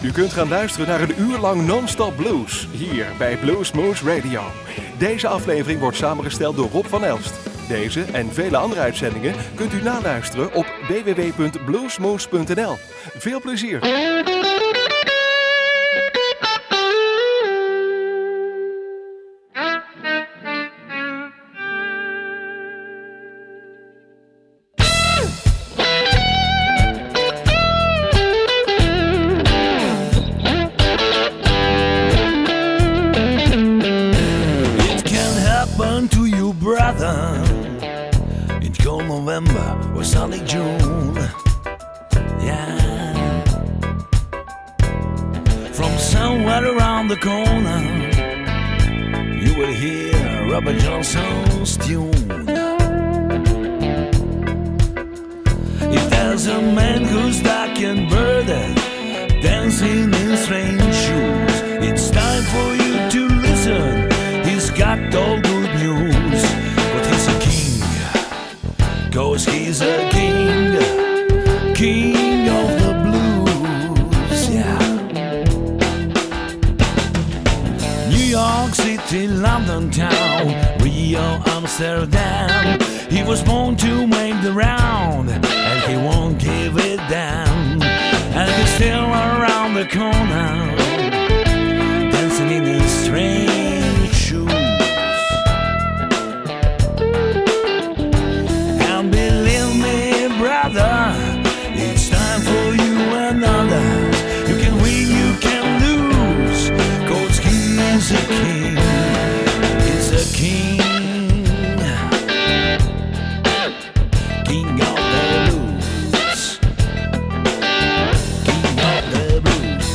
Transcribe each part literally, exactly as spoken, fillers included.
U kunt gaan luisteren naar een uur lang non-stop blues, hier bij Bluesmoose Radio. Deze aflevering wordt samengesteld door Rob van Elst. Deze en vele andere uitzendingen kunt u naluisteren op w w w punt bluesmoose punt n l. Veel plezier! November or sunny June, yeah. From somewhere around the corner, you will hear Robert Johnson's tune. If there's a man who's dark and burdened, dancing in strange shoes, it's time for you to listen. He's got all good news, but he's a king. 'Cause he's a king, king of the blues, yeah. New York City, London town, Rio, Amsterdam. He was born to make the round, and he won't give it down. And he's still around the corner, dancing in his strange shoes. It's time for you and others. You can win, you can lose, 'cause he's a king. He's a king, king of the blues, king of the blues.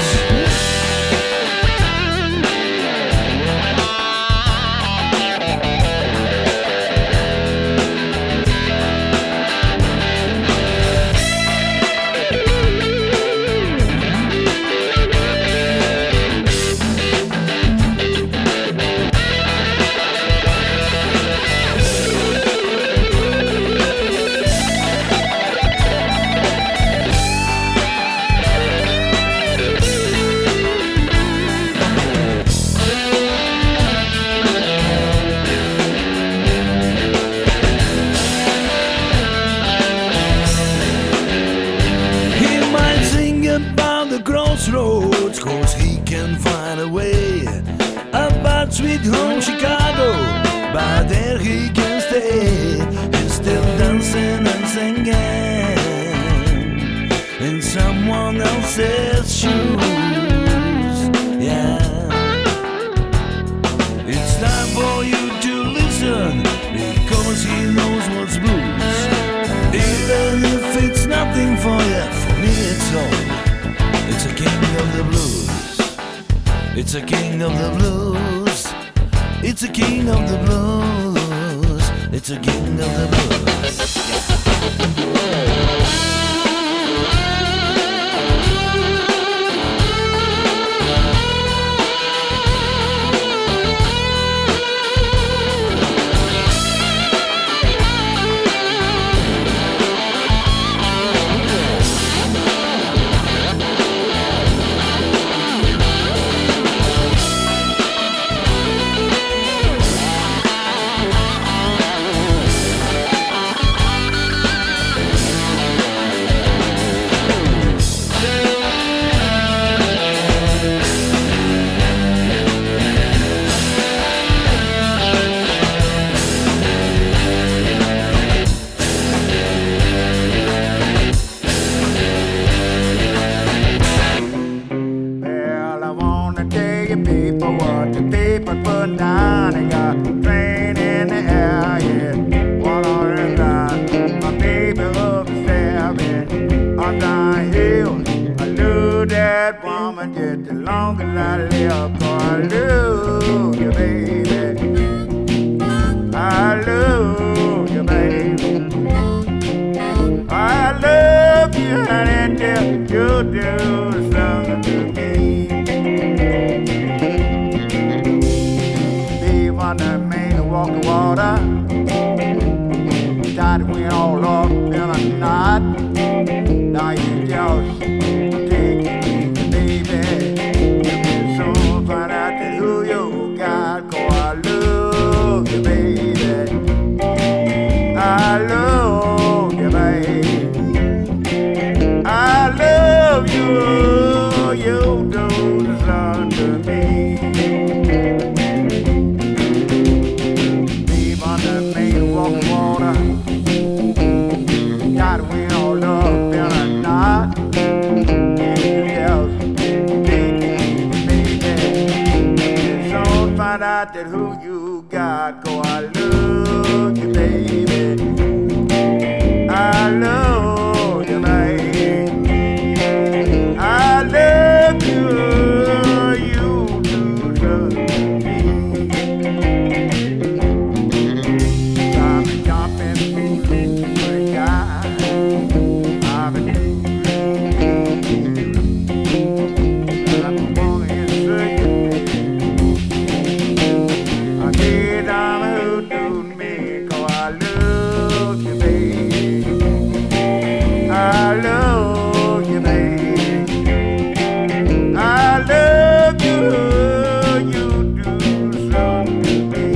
Crossroads, 'cause he can find a way about sweet home Chicago, but there he can stay. He's still dancing and singing in someone else's shoes, yeah. It's time for you to listen, because he knows what's blues. Even if it's nothing for you, for me it's all. It's a king of the blues. It's a king of the blues. It's a king of the blues. It's a king of the blues. Yeah. Now you just take it easy, baby. got that who you got, 'cause I love you, baby. I love you, baby. I love you, you do trust me. I've been jumping for a guy. I've been I love you, baby. I love you, you do something to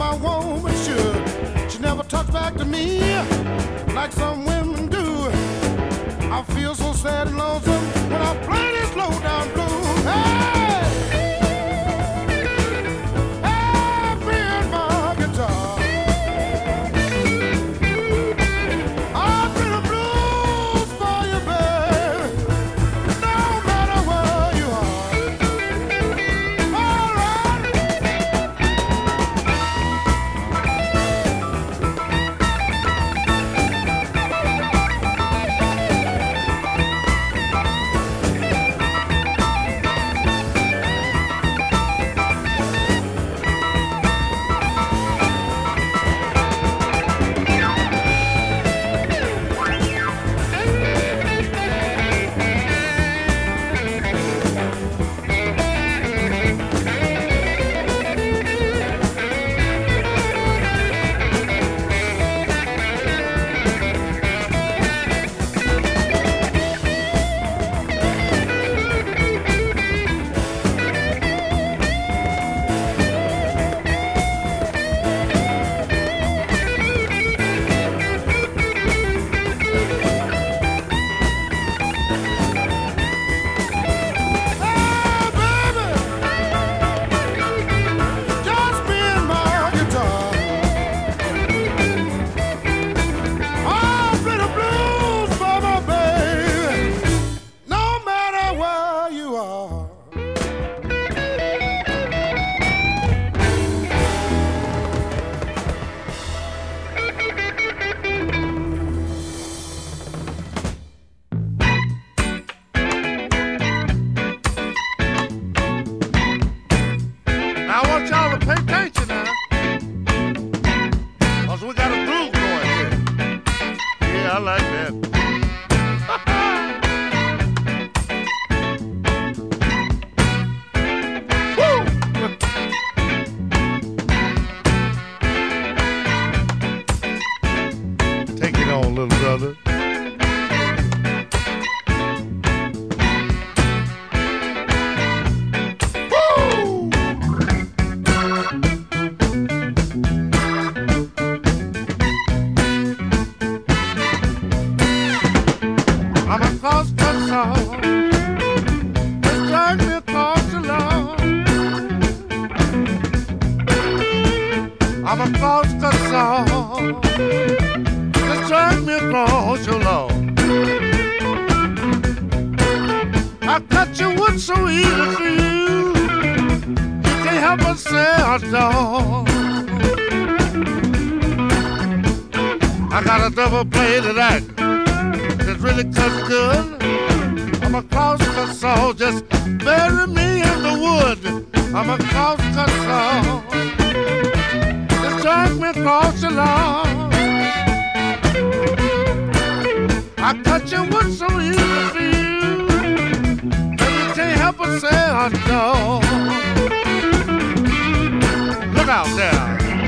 my woman should. She never talks back to me like some women do. I feel so sad and lonesome when I play this low down blues. Hey, hey, playing my guitar. I play the blues for you, baby, no matter where you are. All right. Now I want y'all to pay attention now, cause we got a groove going here. Yeah, I like that. Woo! Take it on, little brother. I'm a cross-cut saw. Just drag me across the lawn. I'm a cross-cut saw. Just drag me across your lawn. I cut your wood so easy for you. You can't help but say I don't. I got a double-bladed axe that really cuts good. I'm a cross-cut saw, just bury me in the wood. I'm a cross-cut saw, just drag me across the lawn. I cut your wood so easy for you, and you can't help but say I don't. Look out there.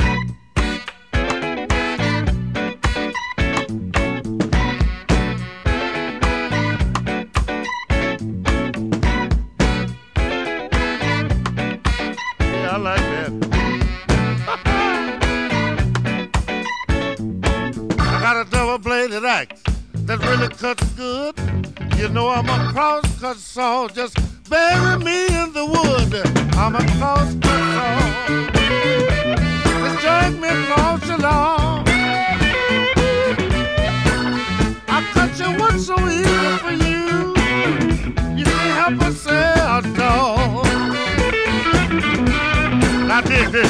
I like that. I got a double-bladed axe that really cuts good. You know I'm a cross-cut saw, just bury me in the wood. I'm a cross-cut saw, just drag me across the lawn. I cut your wood so easy for you, you can't help but say I don't. I did this.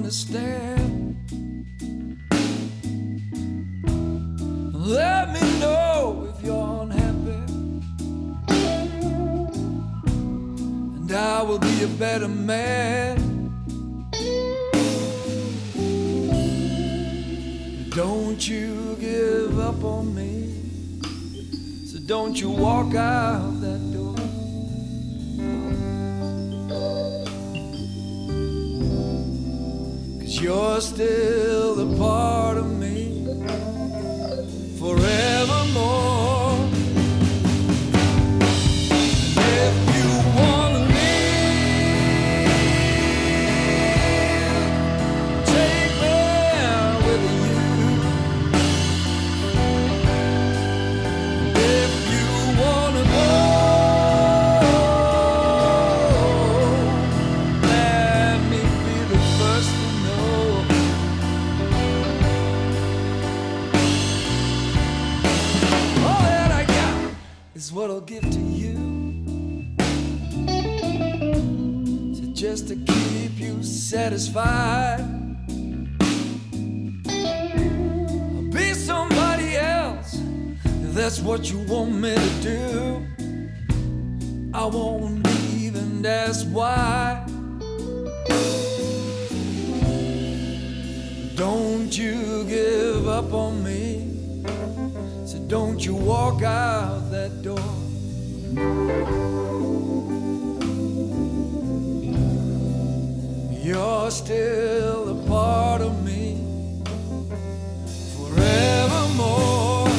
understand. Let me know if you're unhappy, and I will be a better man. Don't you give up on me, so don't you walk out that door. Cause you're still a part of me forevermore. If you wanna leave, take me with you. If you wanna go, let me be the first to know. All that I got is what I'll give to you, so just to keep you satisfied. I'll be somebody else if that's what you want me to do. I won't even ask why. Don't you give up on me, so don't you walk out that door. You're still a part of me forevermore.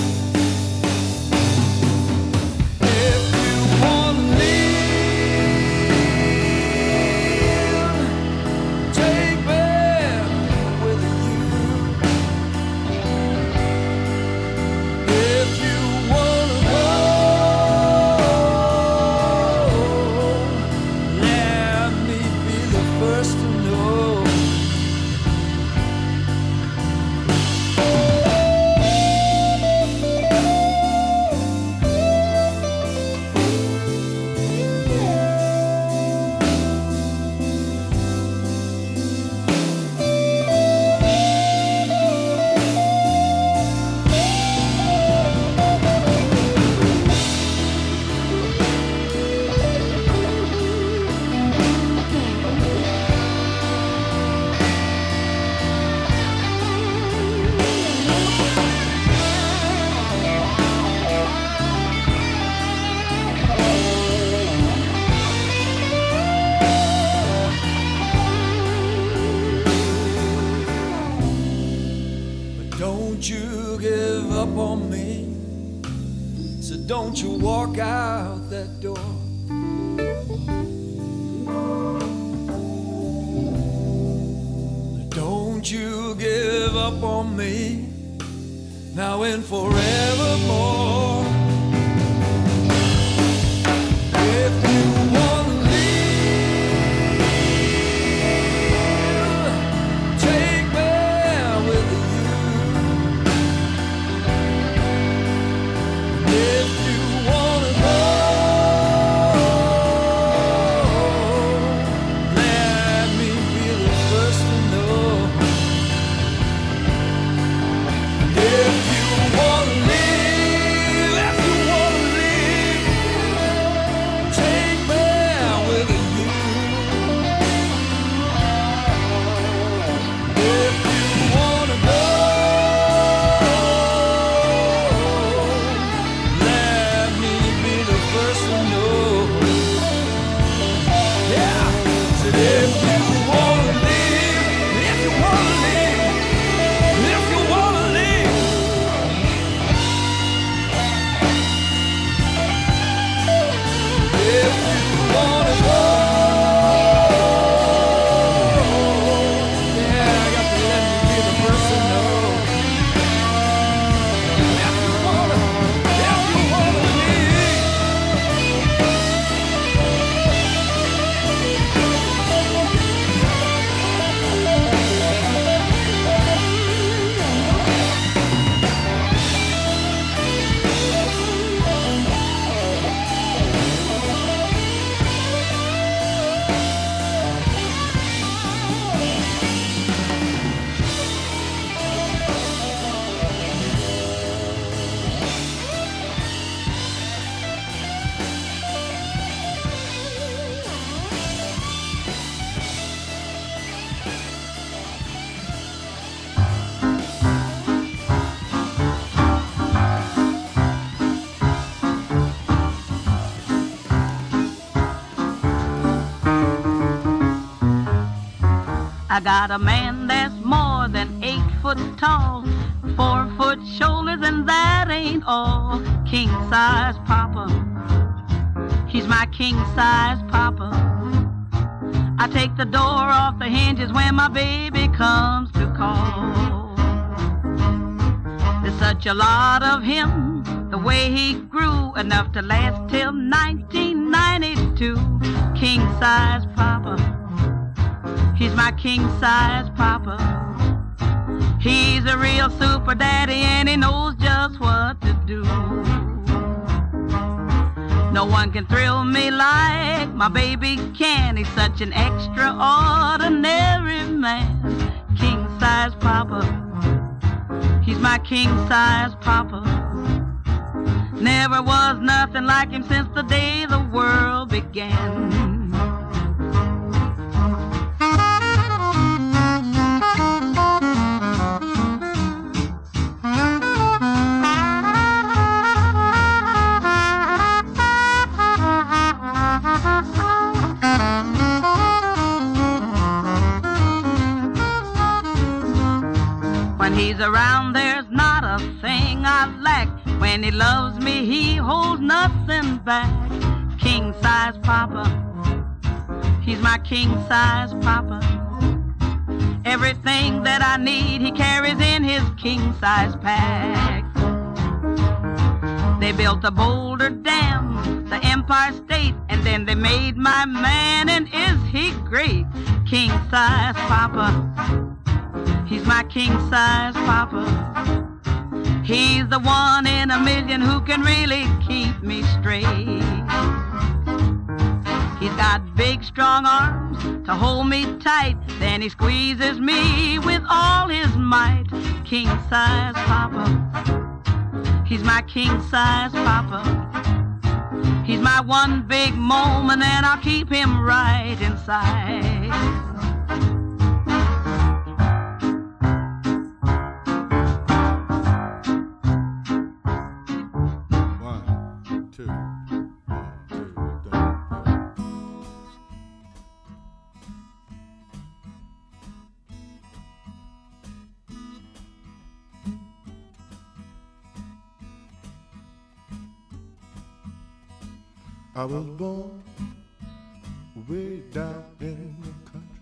If you wanna leave, take me with you. If you wanna go, let me be the first to know. But don't you give up on me, so don't you walk out that door. Don't you give up on me, now and forevermore. If you wanna leave, take me with you. If you wanna go, let me be the first to know. If you wanna leave, if you wanna leave, take me I got a man that's more than eight foot tall, four foot shoulders, and that ain't all. King size papa, he's my king size papa. I take the door off the hinges when my baby comes to call. There's such a lot of him, the way he grew, enough to last till nineteen ninety-two. King size papa, he's my king size papa. He's a real super daddy and he knows just what to do. No one can thrill me like my baby can. He's such an extraordinary man. King size papa, he's my king size papa. Never was nothing like him since the day the world began. When he's around, there's not a thing I lack. When he loves me, he holds nothing back. King size papa, he's my king size papa. Everything that I need, he carries in his king size pack. They built a Boulder Dam, the Empire State, and then they made my man, and is he great? King size papa, he's my king size papa. He's the one in a million who can really keep me straight. He's got big strong arms to hold me tight, then he squeezes me with all his might. King size papa, he's my king size papa. He's my one big moment and I'll keep him right inside. I was born way down in the country,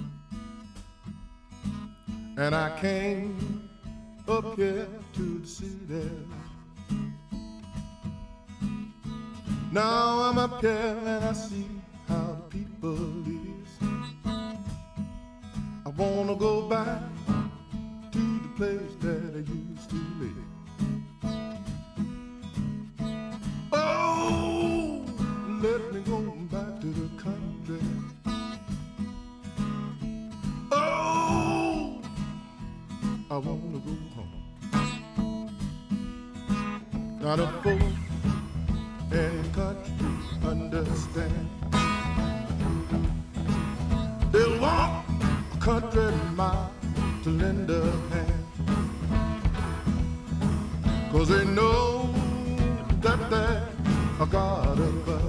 and I came up here to the city. Now I'm up here and I see how the people live. I wanna go back to the place that I used to live. Oh, let me go back to the country. Oh, I wanna go home. Got a folk in the country understand. They'll walk a country mile to lend a hand, 'cause they know that there's a God above,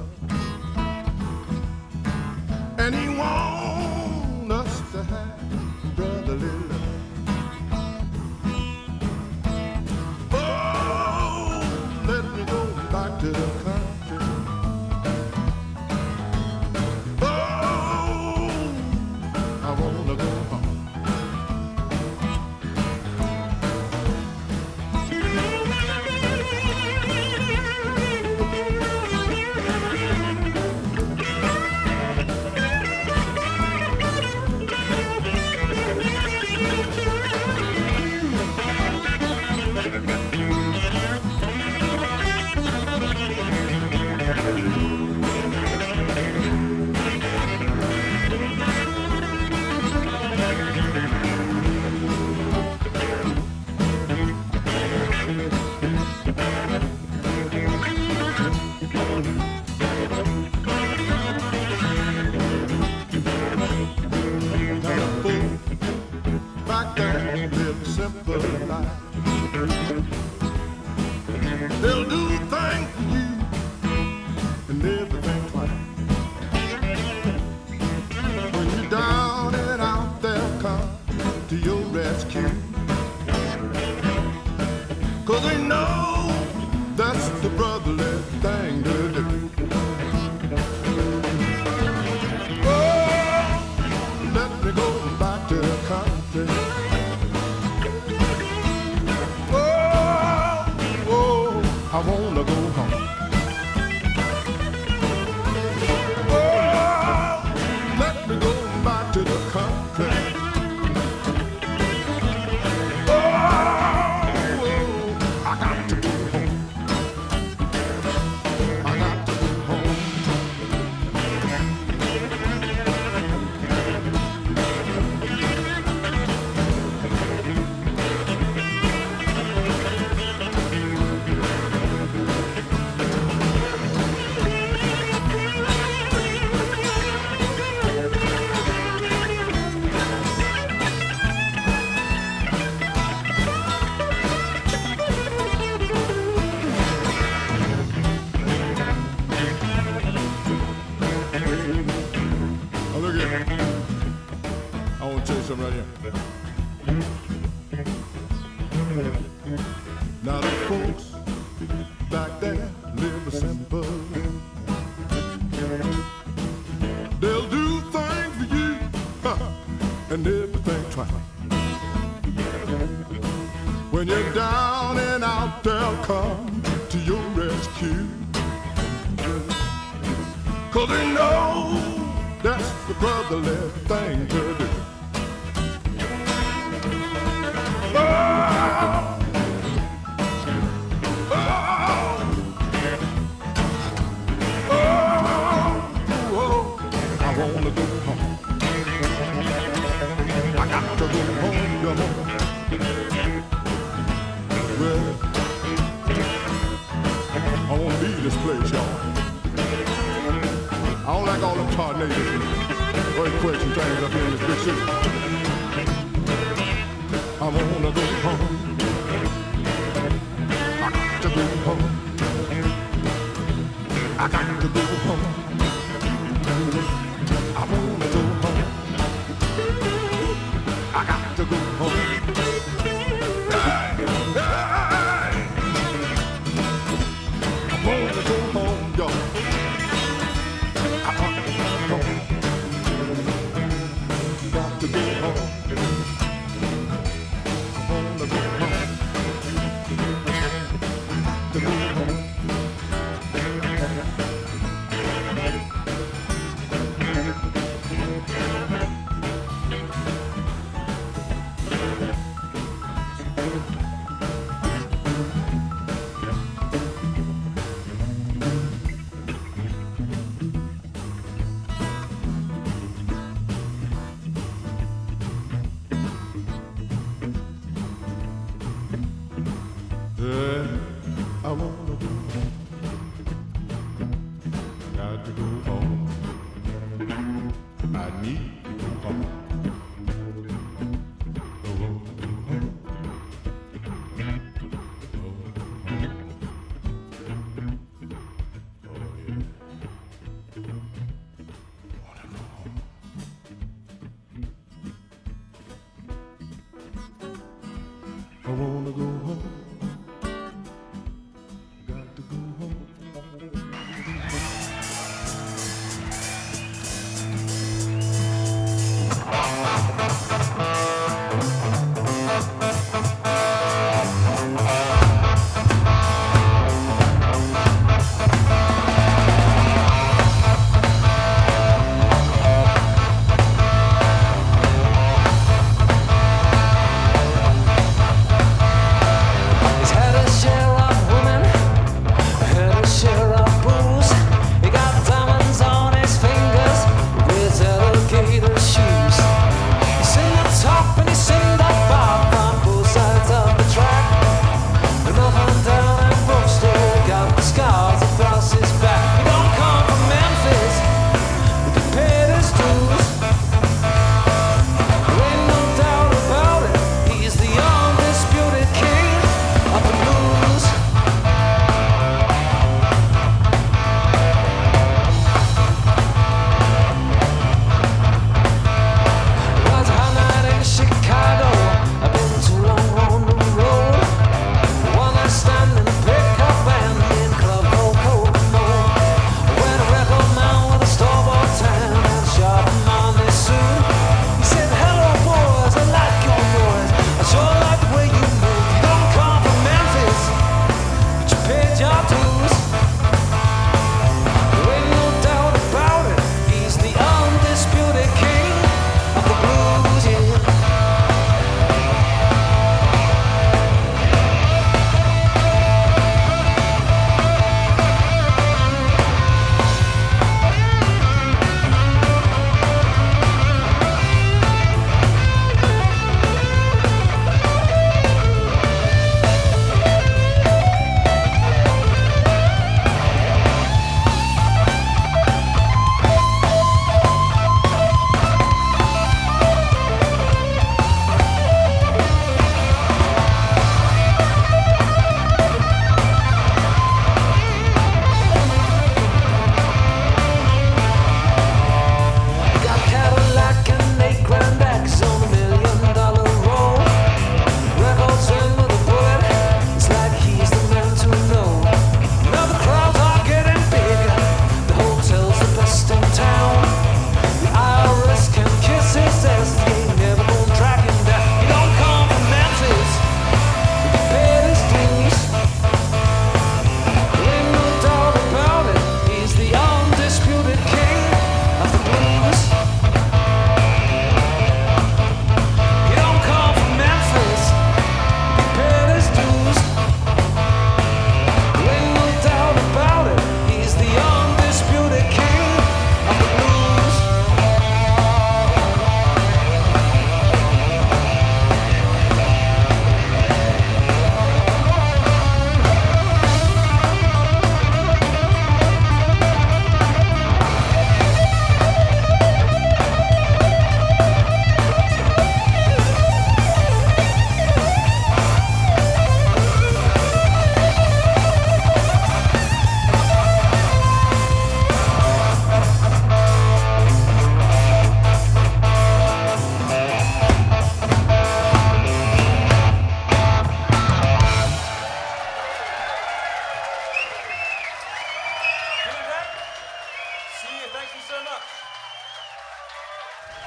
and he wants us to have brotherly love. Oh, let me go back to the country. Oh, I wanna go home. Back there, live a simple life. They'll do things for you and everything twice. When you're down and out there I wanna go home. Let me go back to the country. Oh, I got to go home. I got to go home. Something right here. Now the folks back there live simple. They'll do things for you, huh, and everything try. When you're down and out, they'll come to your rescue. 'Cause they know that's the brotherly thing to do. Oh, oh, oh, oh, I wanna go home. I got to go home, go home. Well, I wanna leave this place, y'all. I don't like all them tornadoes and earthquakes and things up here in this big city. I wanna go home. I got to go home. I got to go home. I wanna go home. I got to go home. Hey, hey. I wanna go home, y'all. I wanna go home. Got to go home. I wanna go home.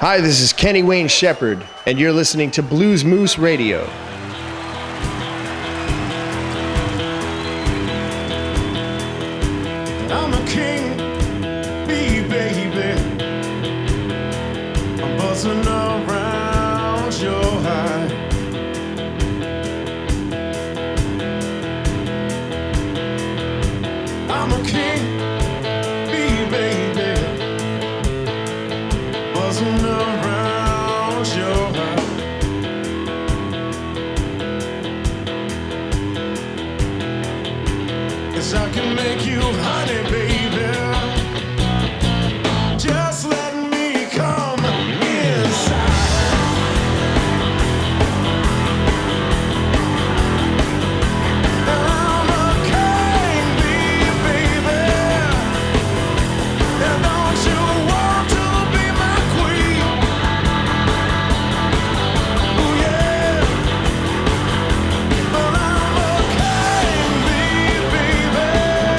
Hi, this is Kenny Wayne Shepherd, and you're listening to Blues Moose Radio. I'm a king bee, baby. I'm buzzing around your high. I'm a king bee, baby. Buzzing around your high. Yes, I can make you honey, baby. Just let me come inside. I'm a king bee, baby. And don't you want to be my queen? Ooh, yeah. But I'm a king bee, baby.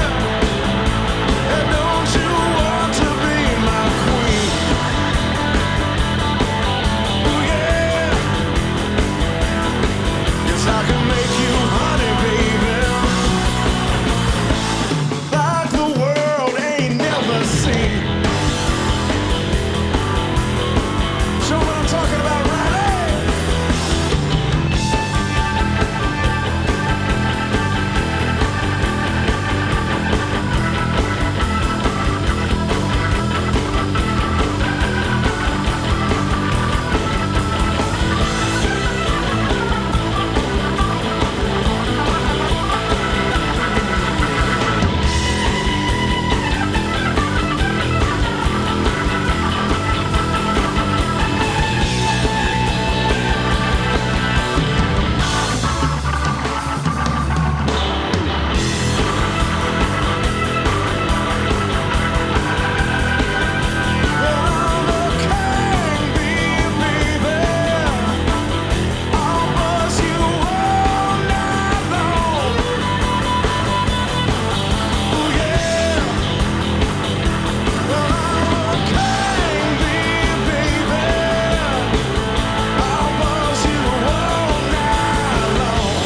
And don't you want to be my queen? Ooh, yeah. Yes, I can make you honey, baby. Like the world ain't never seen. Show what I'm talking about, Riley. I'm a king bee, baby. I'll buzz you all night long. Ooh, yeah. I'm a king bee, baby. I'll buzz you all night long.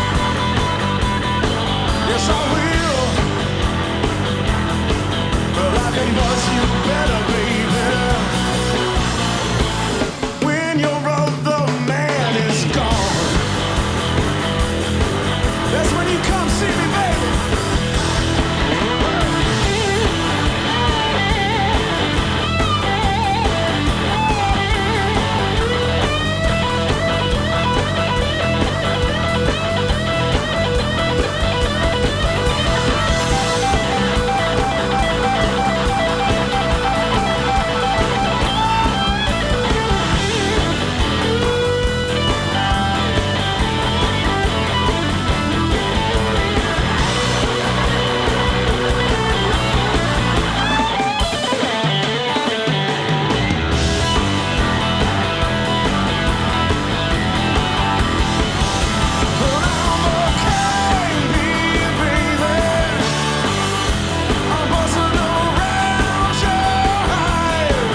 Yes, I will. But I can buzz you better, baby. When your other man is gone, that's when you come see me, baby. But I'm a king bee, baby. I'm buzzing around your hive.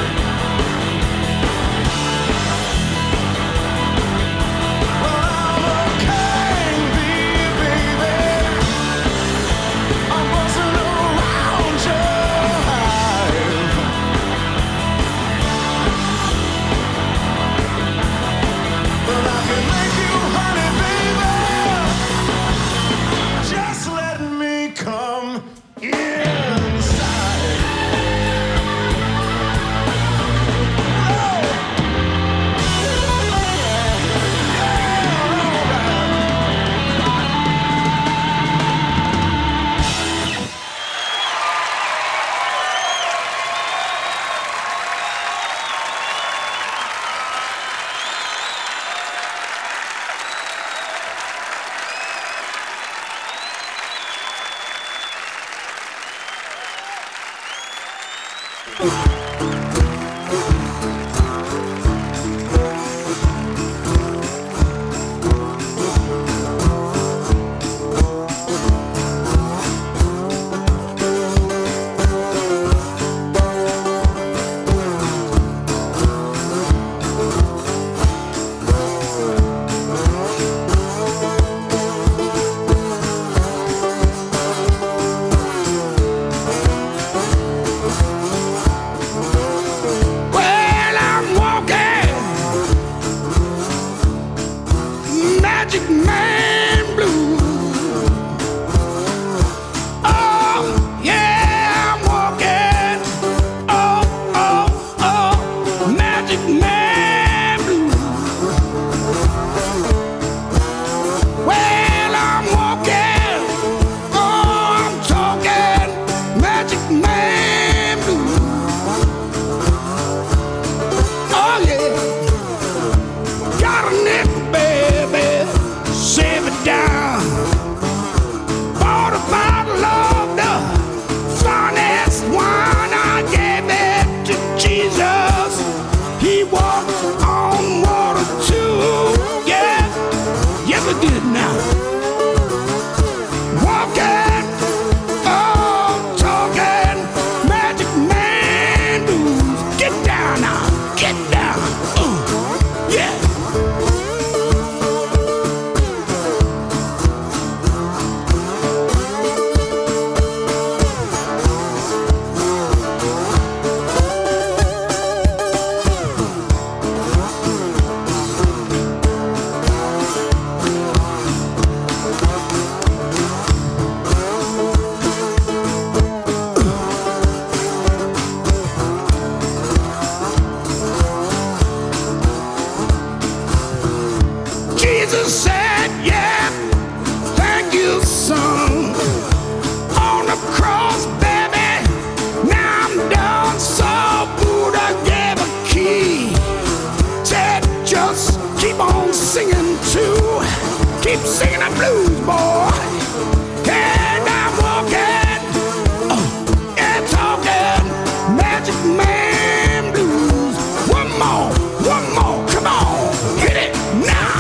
But I'm a king bee, baby. I'm buzzing around your hive. But I can make you honey, baby. Just let me come inside. Magic Man Blues. Oh, yeah, I'm walking. Oh, oh, oh, Magic Man Blues. Well, I'm walking. Oh, I'm talking. Magic Man Blues. Oh, yeah. Got a nickel, baby. Save it down. Bought a bottle of the finest wine. I gave it to Jesus. He walked on water too. Yeah, yes I did now. Walking, oh, talking, Magic Man Blues. Get down now, get down. Ooh, yeah. Jesus said, yeah, thank you, son. On the cross, baby, now I'm done. So Buddha gave a key. Said, just keep on singing too. Keep singing the blues, boy. And I'm walking, oh, yeah, talking Magic Man Blues. One more, one more, come on, hit it now.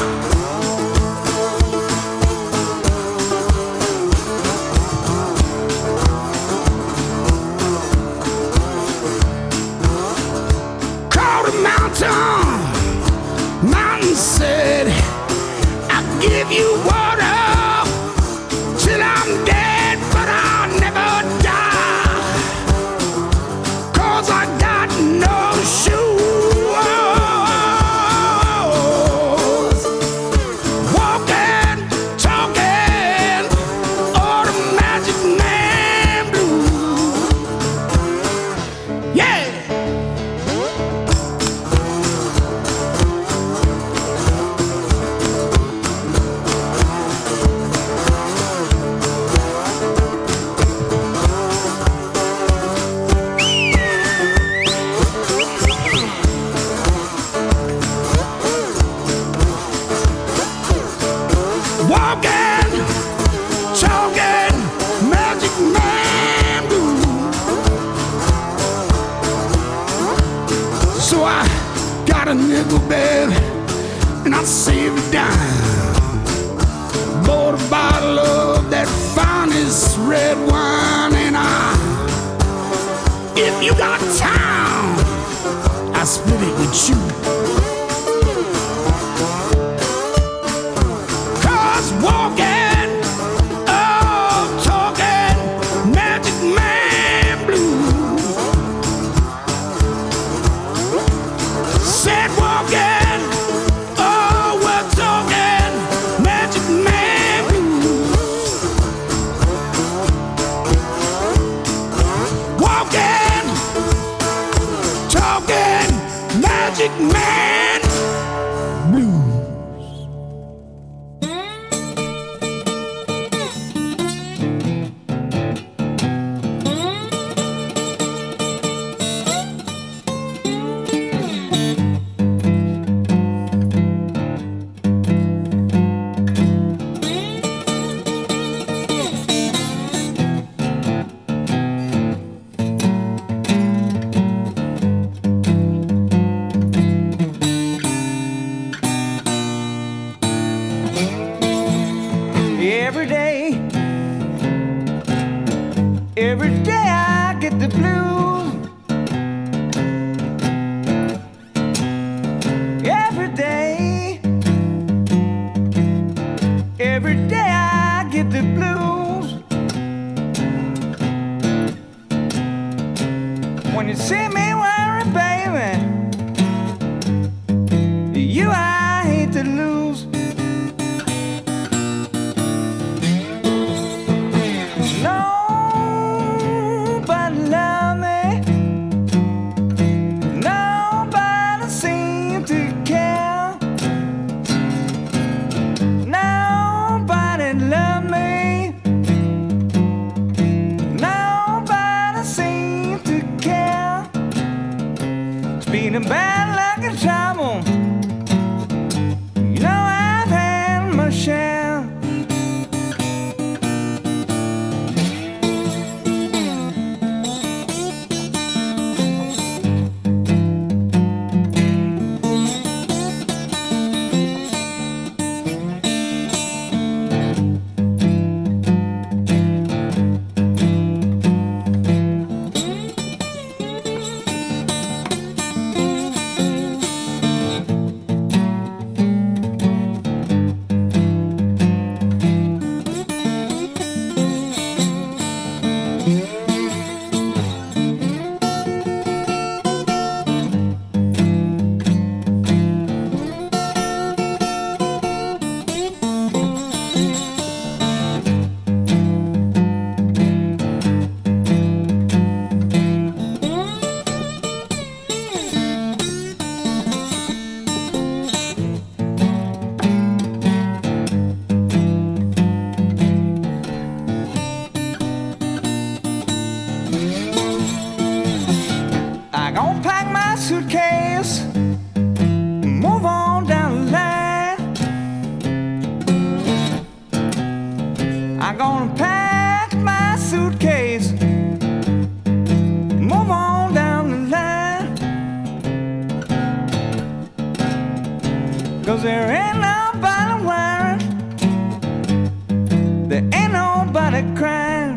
Called a mountain, mountain said, I'll give you water till I'm dead, but I'll never die. Cause I got no shoes. Walking, talking, all the Magic Man Blues. Yeah. Walking, talking, Magic Man Blues. So I got a nickel, baby, and I saved a dime. Bought a bottle of that finest red wine, and I, if you got time, I split it with you. Cause walking, oh, talking, Magic Man Blues. Said walking, oh, we're talking Magic Man Blues. Walking, talking Magic Man Blues. Every day, every day I get the blues. Every day, every day I get the blues. When you see me worry, baby, you I hate to lose. nobody crying.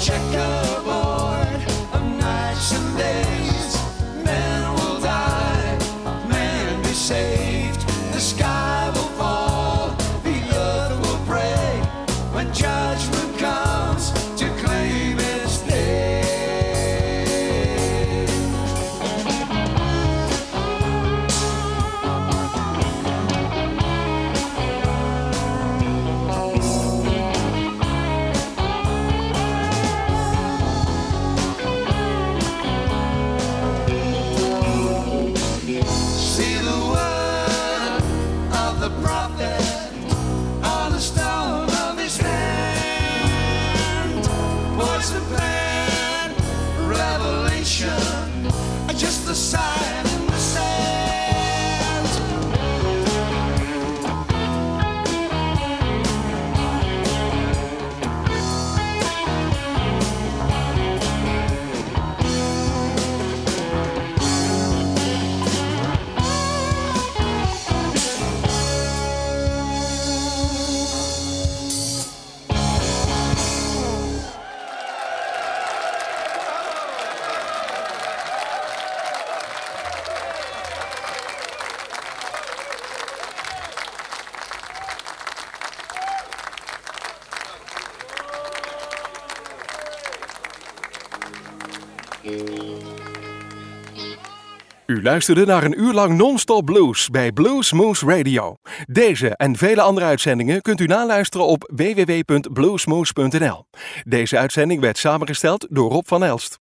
checkerboard of nights and days. Men will die, men be saved. The sky will fall, the earth will break when judgment comes to claim its day. See the word of the prophet on the stone of his hand. Poison plan, revelation, just the sign in the sand. U luisterde naar een uur lang non-stop blues bij Blues Moose Radio. Deze en vele andere uitzendingen kunt u naluisteren op w w w punt bluesmoose punt n l. Deze uitzending werd samengesteld door Rob van Elst.